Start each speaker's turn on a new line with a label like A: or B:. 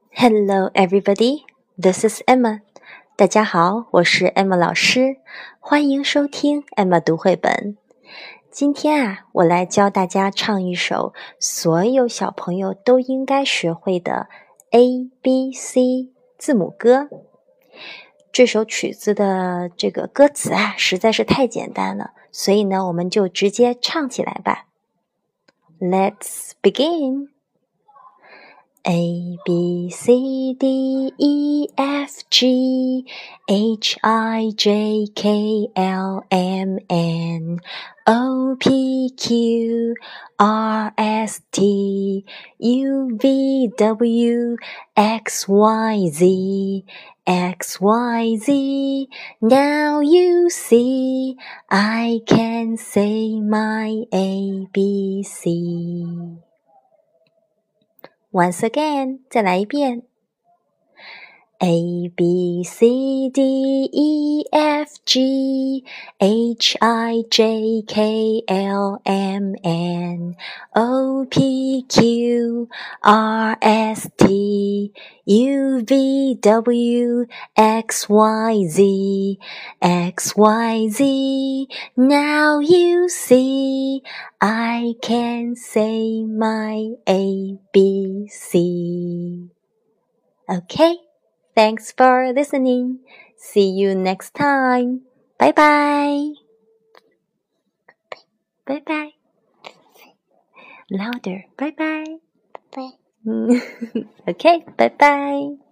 A: Hello, everybody. This is Emma. 大家好，我是 Emma 老师，欢迎收听 Emma 读绘本。今天我来教大家唱一首所有小朋友都应该学会的 ABC 字母歌。这首曲子的这个歌词实在是太简单了，所以呢，我们就直接唱起来吧。Let's begin.A, B, C, D, E, F, G, H, I, J, K, L, M, N, O, P, Q, R, S, T, U, V, W, X, Y, Z, X, Y, Z. Now you see, I can say my ABC.Once again, 再来一遍。A, B, C, D, E, F, G, H, I, J, K, L, M, N, O, P, Q, R, S, T, U, V, W, X, Y, Z, X, Y, Z. Now you see, I can say my ABC. Okay, thanks for listening. See you next time. Bye bye. Bye bye. Louder. Bye bye.
B: Bye.
A: Okay, bye bye.